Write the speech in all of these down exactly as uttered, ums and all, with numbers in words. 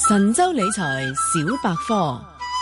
神州理財小百科。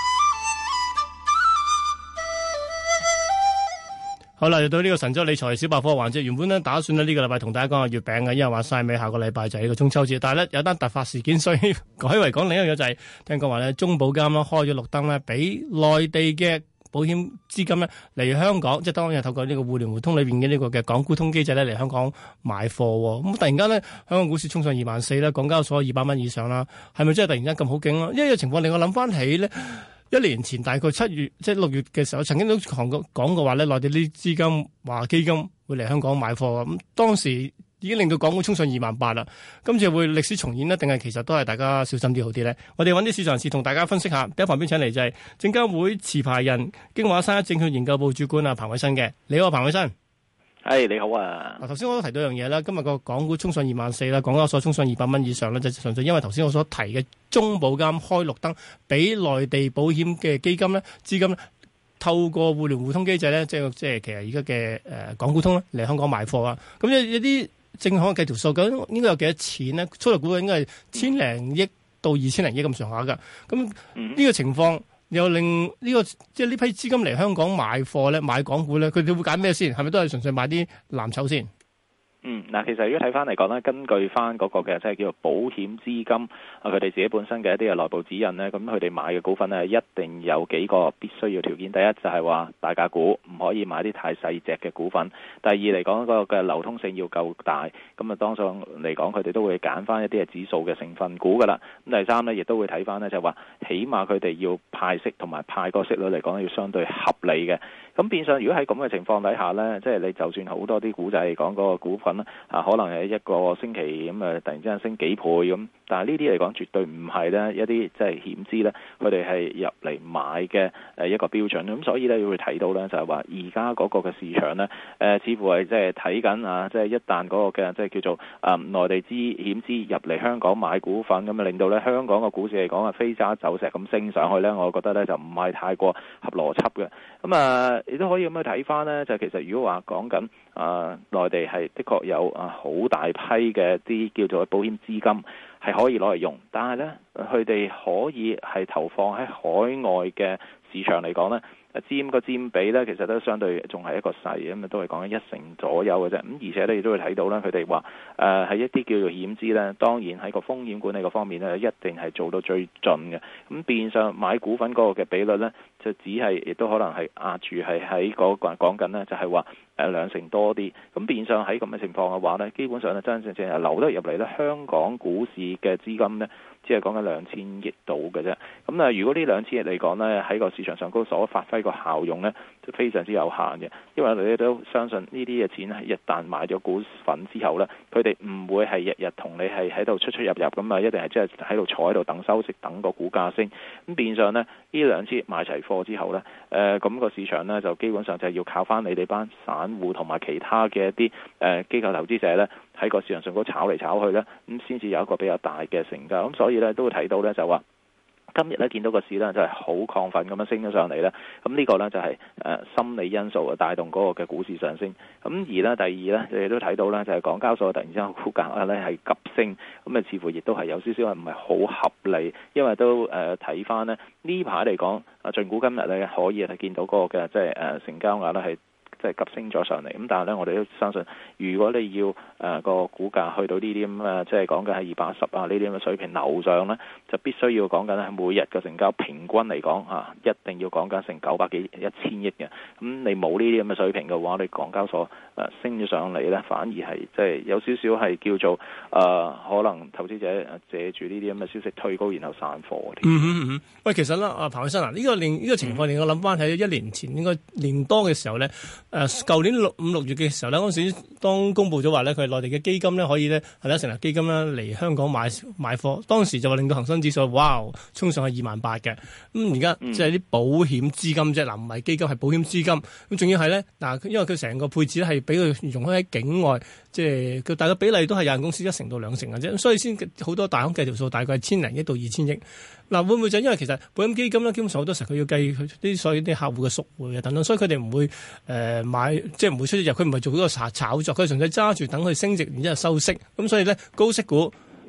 好啦，又到呢個神州理財小百科環節。原本咧打算咧呢個禮拜同大家講下月餅嘅，因為話晒尾下個禮拜就係呢個中秋節。但係咧有單突發事件，所以改為講另一樣嘢，就係聽講話咧中保監啦開咗綠燈咧，俾內地嘅保險資金咧嚟香港，即係當然係透過呢個互聯互通裏邊嘅呢個嘅港股通機制咧嚟香港買貨。咁突然間咧香港股市衝上二萬四啦，港交所二百蚊以上啦，係咪真係突然間咁好勁咯？因為呢個情況令我諗翻起咧。一年前大概七月即係六月嘅時候，曾經都講過講過話咧，內地啲資金話基金會嚟香港買貨，咁當時已經令到港股衝上二萬八啦。今次會歷史重演呢？定係其實都係大家小心啲好啲咧？我哋揾啲市場人士同大家分析下。喺旁邊請嚟就係證監會持牌人京華山一證券研究部主管啊彭偉新嘅。你好，彭偉新。 係、hey, 你好啊！ 嗱，頭先我都提到一樣嘢啦，今日個港股衝上二萬四啦，港交所衝上二百蚊以上咧，就純粹因為頭先我所提嘅中保監開綠燈，俾內地保險嘅基金咧資金咧透過互聯互通機制咧，即係即係其實而家嘅誒港股通咧嚟香港買貨啊。咁有有啲正行計條數，究竟應該有幾多錢咧？粗略估計應該係千零億到二千零億咁上下噶。咁呢個情況。又令呢、這個即係呢批資金嚟香港買貨咧，買港股咧，佢哋會揀咩先？係咪都係純粹買啲藍籌先？ 嗯，嗱，其實如果睇翻嚟講咧，根據翻嗰個嘅即係叫做保險資金啊，佢哋自己本身嘅一啲嘅內部指引咧，咁佢哋買嘅股份咧，一定有幾個必須要條件。第一就係話大價股，唔可以買啲太細隻嘅股份。第二嚟講，嗰個嘅流通性要夠大。咁啊，當上嚟講，佢哋都會揀翻一啲嘅指數嘅成分股噶啦。咁第三咧，亦都會睇翻咧，就係話起碼佢哋要派息同埋派個息率嚟講，要相對合理嘅。咁變相，如果喺咁嘅情況底下咧，即係你就算好多啲股仔嚟講嗰個股份啊，可能係一個星期咁啊，突然之間升幾倍咁，但係呢啲嚟講絕對唔係咧一啲即係險資咧，佢哋係入嚟買嘅誒一個標準。咁所以咧，會睇到咧就係話而家嗰個嘅市場咧，誒、呃、似乎係即係睇緊啊，即係一旦嗰個嘅即係叫做啊內地資險資入嚟香港買股份，咁啊令到咧香港個股市嚟講啊飛渣走石咁升上去咧，我覺得咧就唔係太過合邏輯嘅。咁啊，亦都可以咁樣睇翻咧，就其實如果話講緊啊內地係的確有啊好大批嘅啲叫做保險資金係可以攞嚟用，但係咧佢哋可以係投放喺海外嘅市場嚟講咧，佔個佔比咧其實都相對仲係一個細，咁啊都係講緊一成左右嘅啫。咁而且咧亦都會睇到咧，佢哋話誒係一啲叫做險資咧，當然喺個風險管理個方面咧，一定係做到最盡嘅。咁變相買股份嗰個嘅比率咧，就只係亦都可能係壓住係喺嗰個講緊咧，就係話誒兩成多啲。咁變相喺咁嘅情況嘅話咧，基本上咧真真正正係流得入嚟咧，香港股市嘅資金咧，只係講緊兩千億度嘅啫。咁啊，如果呢兩千億嚟講咧，喺個市場上高所發揮個效用咧，就非常之有限嘅。因為你都相信呢啲嘅錢係一旦買咗股份之後咧，佢哋唔會係日日同你係喺度出出入入咁啊，一定係即係喺度坐喺度等收息，等個股價升。咁變相咧，呢兩千億買齊貨之後咧，誒、呃、咁、那個市場咧就基本上就係要靠翻你哋班散戶同埋其他嘅一啲誒、呃、機構投資者咧，喺個市場上高炒嚟炒去咧，咁先至有一個比較大嘅成交。咁所以咧都會睇到咧就話，今日咧見到個市咧就係好亢奮咁樣升咗上嚟咧，咁呢個咧就係誒心理因素啊帶動嗰個嘅股市上升。咁而咧第二咧，你哋都睇到咧就係港交所突然之間股價咧係急升，咁啊似乎亦都係有少少係唔係好合理，因為都誒睇翻咧呢排嚟講啊，盡管今日咧可以係見到嗰個嘅即係誒成交額咧係即係急升咗上嚟，咁但係咧我哋都相信，如果你要誒、呃、個股價去到呢啲咁嘅，即係講緊係二百一十啊呢啲咁嘅水平樓上咧，就必須要講緊係每日嘅成交平均嚟講嚇，一定要講緊成九百幾一千億嘅。咁你冇呢啲咁嘅水平嘅話，你港交所誒、呃、升咗上嚟咧，反而係即係有少少係叫做誒、呃、可能投資者借住呢啲咁嘅消息推高，然後散貨。 嗯嗯嗯，喂，其實咧，阿彭偉新啊，呢、這個令呢、這個情況令我諗翻喺一年前應該年多嘅時候咧。誒，舊年六五六月嘅時候咧，嗰陣時當公佈咗話咧，佢係內地嘅基金咧可以咧係啦成立基金咧嚟香港買買貨，當時就話令到恒生指數哇衝上去二萬八嘅。咁而家即係啲保險資金啫，嗱唔係基金係保險資金，咁仲要係咧嗱，因為佢成個配置咧係俾佢容許喺境外，即係佢大概比例都係有限公司一成到兩成嘅啫，所以先好多大行計條數，大概係千零億到二千億。嗱會唔會就因為其實保險基金咧，基本上好多時候佢要計佢啲所有啲客戶嘅贖回啊等等，所以佢哋唔會誒。呃買即係唔會出入，佢唔係做嗰個炒炒作，佢純粹揸住等佢升值，然之後收息。咁所以咧高息股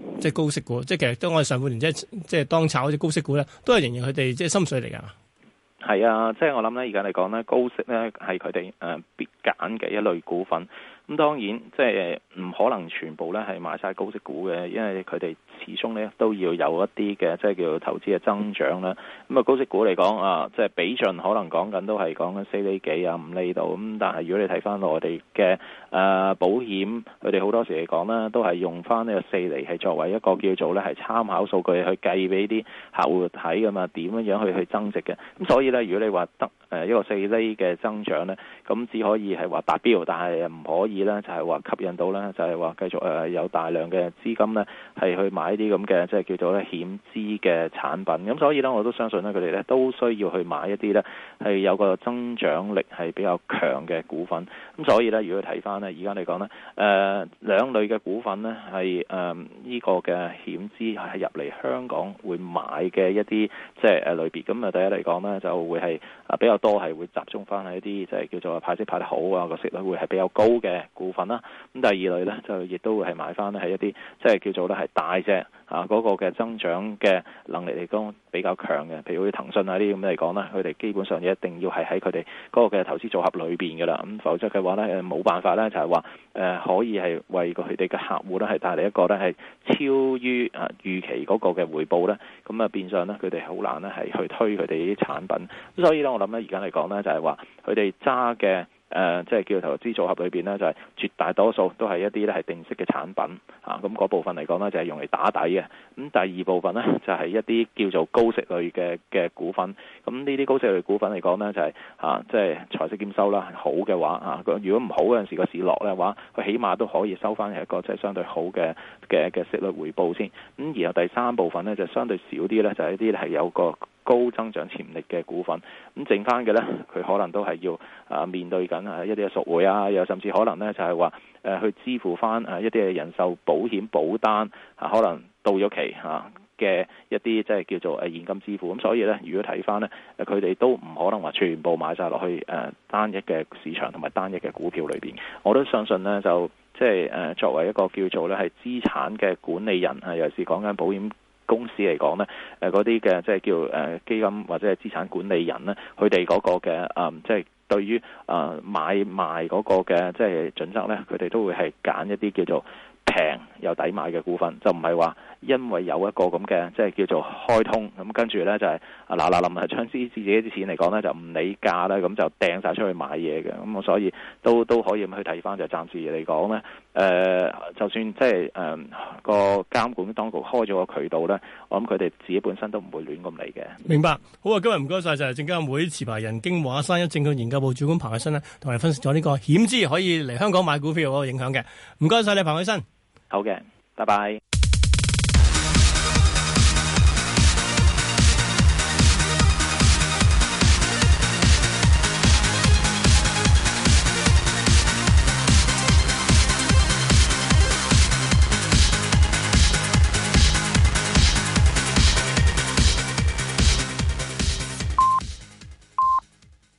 即係高息股，即係其實當我哋上半年即係即係當炒嗰啲高息股咧，都係仍然佢哋即係心水嚟㗎。 係啊，即係我諗咧，而家嚟講咧，高息咧係佢哋誒必揀嘅一類股份。咁當然即係唔可能全部咧係買晒高息股嘅，因為佢哋始終咧都要有一啲嘅即係叫做投資嘅增長啦。咁啊高息股嚟講啊，即係比盡可能講緊都係講緊四厘幾啊五厘度。咁但係如果你睇翻內地嘅誒保險，佢哋好多時嚟講咧都係用翻呢個四厘係作為一個叫做咧係參考數據去計俾啲客戶睇噶嘛，點樣樣去去增值嘅。咁所以咧，如果你話得誒一個四厘嘅增長咧，咁只可以係話達標，但係唔可以咧就係話吸引到咧，就係話繼續誒有大量嘅資金咧係去買啲咁嘅即係叫做咧險資嘅產品。咁所以咧，我都相信咧佢哋咧都需要去買一啲咧係有個增長力係比較強嘅股份。咁所以咧，如果睇翻咧而家嚟講咧，誒兩類嘅股份咧係誒呢個嘅險資係入嚟香港會買嘅一啲即係誒類別。咁啊第一嚟講咧就會係啊比較多係會集中翻喺一啲即係叫做派息派得好啊，個息率會係比較高嘅股份啦。咁第二類咧就亦都會係買翻咧係一啲即係叫做咧係大隻啊嗰個嘅增長嘅能力嚟講比較強嘅，譬如好似騰訊啊啲咁嚟講咧，佢哋基本上一定要係喺佢哋嗰個嘅投資組合裏邊㗎啦。咁否則嘅話咧，冇辦法咧就係話誒可以係為佢哋嘅客戶咧係帶嚟一個咧係超於啊預期嗰個嘅回報咧。咁啊變相咧佢哋好難咧係去推佢哋啲產品。咁所以咧我諗咧而家嚟講咧就係話佢哋揸嘅。誒、呃，即係叫投資組合裏邊呢，就係、是、絕大多數都係一啲咧係定息嘅產品啊。咁嗰部分嚟講呢，就係、是、用嚟打底嘅。咁第二部分呢，就係、是、一啲叫做高息類嘅嘅股份。咁呢啲高息類股份嚟講呢，就係、是、啊，即係財息兼收啦，好嘅話啊，如果唔好嗰陣時個市落嘅話，佢起碼都可以收翻一個即係相對好嘅嘅嘅息率回報先。咁然後第三部分呢，就相對少啲呢，就係、是、一啲係有個高增長潛力嘅股份。咁剩翻嘅呢，佢可能都係要啊面對緊啊一啲嘅贖回啊，又甚至可能呢就係話誒去支付翻誒一啲嘅人壽保險保單啊，可能到咗期嚇嘅一啲即係叫做誒現金支付。咁所以呢，如果睇翻呢，誒佢哋都唔可能話全部買晒落去誒單一嘅市場同埋單一嘅股票裏邊。我都相信呢，就即係誒作為一個叫做咧係資產嘅管理人啊，尤其是講緊保險公司嚟講呢，誒嗰啲嘅即係叫誒基金或者係資產管理人呢，佢哋嗰個嘅誒即係對於誒買賣嗰個嘅即係準則呢，佢哋都會係揀一啲叫做平又抵買嘅股份，就唔係話因為有一個咁嘅即係叫做開通咁，跟住呢就係啊嗱嗱臨係將啲自己啲錢嚟講呢，就唔理價啦，咁就掟晒出去買嘢嘅。咁我所以都都可以咁去睇翻，就暫時嚟講呢，誒、呃、就算即係誒個監管當局開咗個渠道呢，我諗佢哋自己本身都唔會亂咁嚟嘅。 明白，好啊！今日唔該晒，就係證監會持牌人京華山一證券研究部主管彭偉新呢，同我哋分析咗呢個險資可以嚟香港買股票嗰個影響嘅。唔該晒你，彭偉新。 好嘅，拜拜。